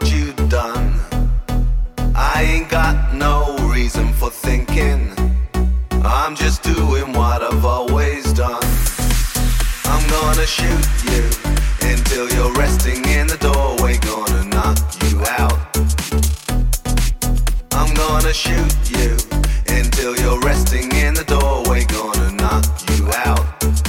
you done. I ain't got no reason for thinking. I'm just doing what I've always done. I'm gonna shoot you until you're resting in the doorway, gonna knock you out. I'm gonna shoot you until you're resting in the doorway, gonna knock you out.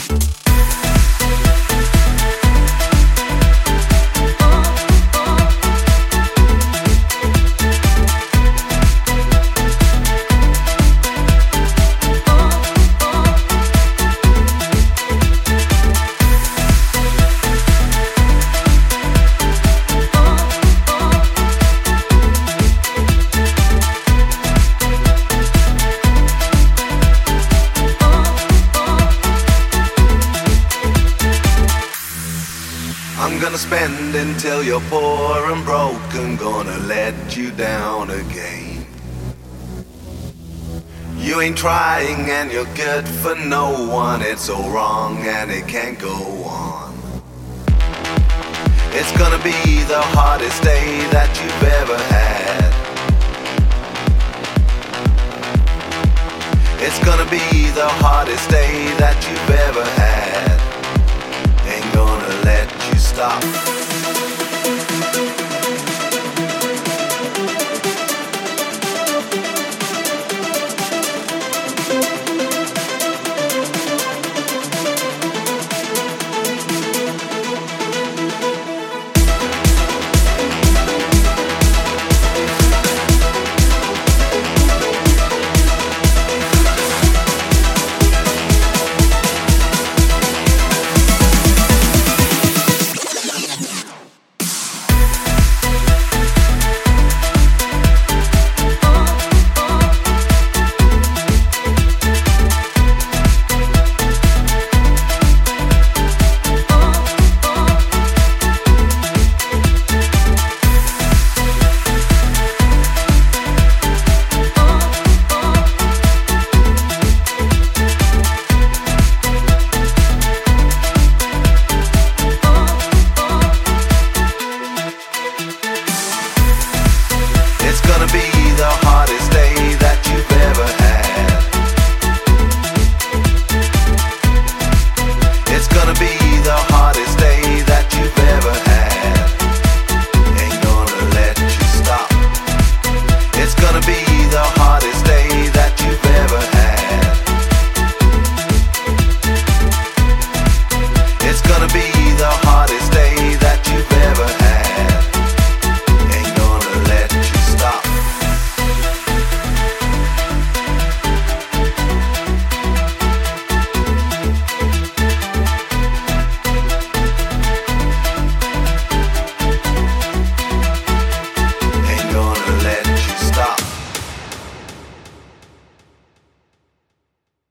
I'm gonna spend until you're poor and broke, and gonna let you down again. You ain't trying and you're good for no one. It's all wrong and it can't go on. It's gonna be the hardest day that you've ever had. It's gonna be the hardest day that you've ever had. Ain't gonna let you stop. It's gonna be the